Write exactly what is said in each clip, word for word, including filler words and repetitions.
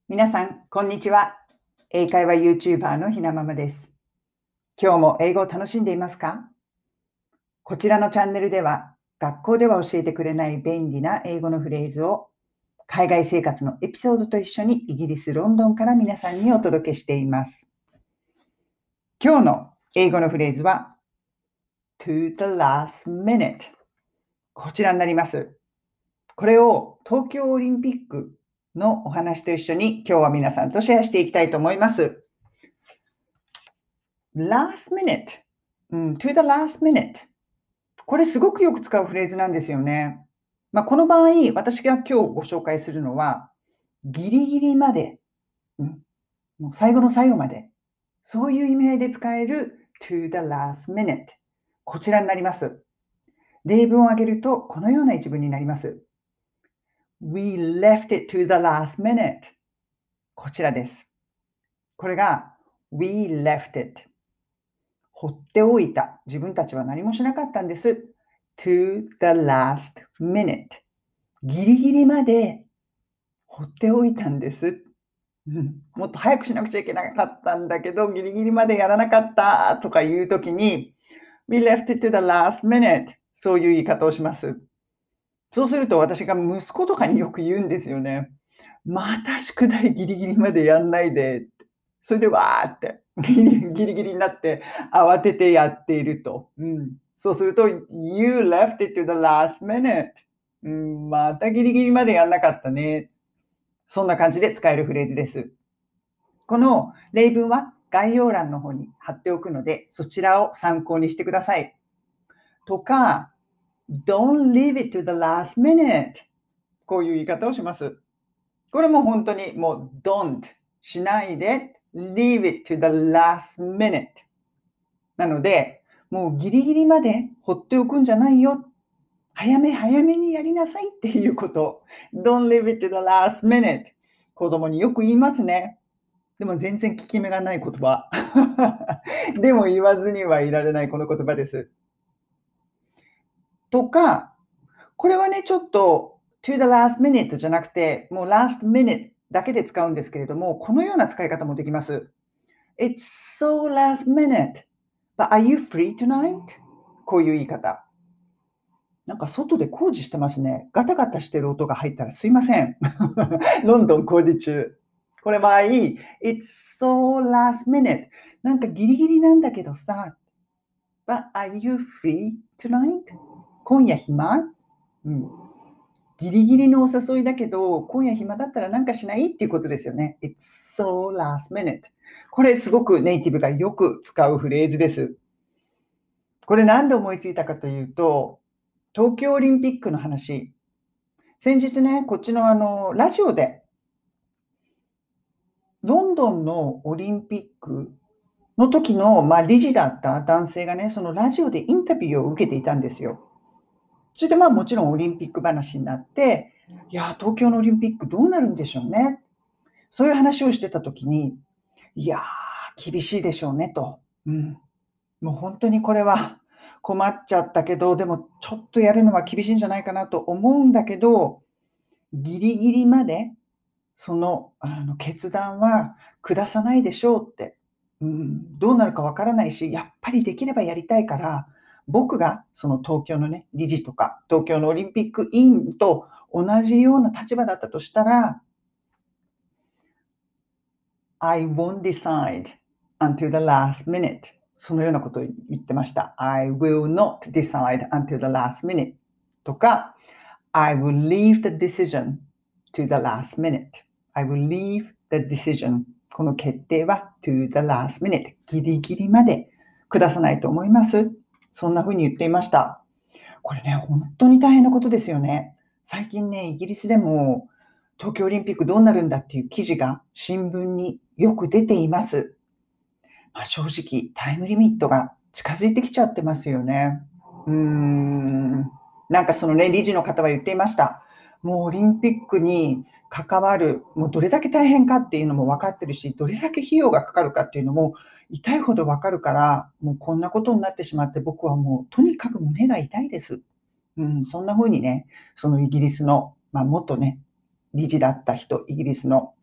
皆さん、こんにちは。英会話 YouTuber のひなママです。今日も英語を楽しんでいますか？こちらのチャンネルでは、学校では教えてくれない便利な英語のフレーズを、海外生活のエピソードと一緒にイギリス・ロンドンから皆さんにお届けしています。今日の英語のフレーズは、to the last minute。こちらになります。これを東京オリンピックのお話と一緒に今日は皆さんとシェアしていきたいと思います。last minute、うん、to the last minute。これすごくよく使うフレーズなんですよね。まあ、この場合、私が今日ご紹介するのは、ギリギリまで、うん、もう最後の最後まで、そういう意味合いで使える to the last minute。こちらになります。例文を挙げると、このような一文になります。We left it to the last minute。こちらです。これが We left it。放っておいた。自分たちは何もしなかったんです。to the last minute。ギリギリまで放っておいたんです。うん、もっと早くしなくちゃいけなかったんだけど、ギリギリまでやらなかったとかいうときに、We left it to the last minute。そういう言い方をします。そうすると私が息子とかによく言うんですよね。また宿題ギリギリまでやんないで。それでわーってギリギリギリになって慌ててやっていると。うん、そうすると、You left it to the last minute。うん、またギリギリまでやんなかったね。そんな感じで使えるフレーズです。この例文は概要欄の方に貼っておくので、そちらを参考にしてください。とか、Don't leave it to the last minute。こういう言い方をします。これも本当にもう don't しないで leave it to the last minute。なので、もうギリギリまで放っておくんじゃないよ。早め早めにやりなさいっていうこと。Don't leave it to the last minute。子供によく言いますね。でも全然効き目がない言葉。でも言わずにはいられないこの言葉です。とか、これはね、ちょっと to the last minute じゃなくて、もう last minute だけで使うんですけれども、このような使い方もできます。It's so last minute, but are you free tonight? こういう言い方。なんか外で工事してますね。ガタガタしてる音が入ったらすいません。ロンドン工事中。これ場合、It's so last minute。なんかギリギリなんだけどさ。But are you free tonight? 今夜暇、うん、ギリギリのお誘いだけど、今夜暇だったらなんかしないっていうことですよね。It's so last minute。これすごくネイティブがよく使うフレーズです。これなんで思いついたかというと、東京オリンピックの話。先日ね、こっちのあの、ラジオで、ロンドンのオリンピックの時の、まあ、理事だった男性がね、そのラジオでインタビューを受けていたんですよ。それでまあもちろんオリンピック話になって、いや、東京のオリンピックどうなるんでしょうね。そういう話をしてた時に、いやー、厳しいでしょうねと。うん。もう本当にこれは困っちゃったけど、でもちょっとやるのは厳しいんじゃないかなと思うんだけど、ギリギリまでその、あの、決断は下さないでしょうって。うん、どうなるかわからないし、やっぱりできればやりたいから、僕がその東京のね、理事とか、東京のオリンピック委員と同じような立場だったとしたら、I won't decide until the last minute。そのようなことを言ってました。I will not decide until the last minute とか、I will leave the decision to the last minute。I will leave the decision。この決定は to the last minute。ギリギリまで下さないと思います。そんな風に言っていました。これね、本当に大変なことですよね。最近ね、イギリスでも東京オリンピックどうなるんだっていう記事が新聞によく出ています。まあ、正直、タイムリミットが近づいてきちゃってますよね。うーん。なんかそのね、理事の方は言っていました。もうオリンピックに関わる、もうどれだけ大変かっていうのも分かってるし、どれだけ費用がかかるかっていうのも痛いほど分かるから、もうこんなことになってしまって、僕はもうとにかく胸が痛いです。うん、そんな風にね、そのイギリスの、まあ、元ね、理事だった人、イギリスの。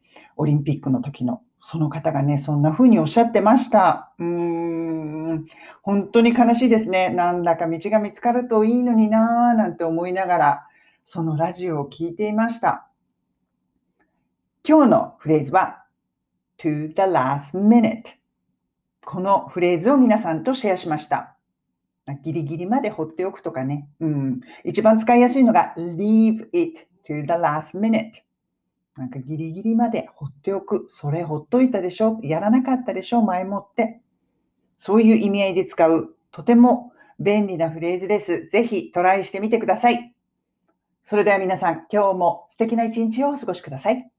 オリンピックの時の、その方がね、そんな風におっしゃってました。うーん、本当に悲しいですね。なんだか道が見つかるといいのにな、なんて思いながら、そのラジオを聞いていました。今日のフレーズは to the last minute。このフレーズを皆さんとシェアしました。ギリギリまで放っておくとかね。うん、一番使いやすいのが leave it to the last minute。なんかギリギリまで放っておく。それほっといたでしょ。やらなかったでしょ。前もって。そういう意味合いで使う、とても便利なフレーズです。ぜひトライしてみてください。それでは皆さん、今日も素敵な一日をお過ごしください。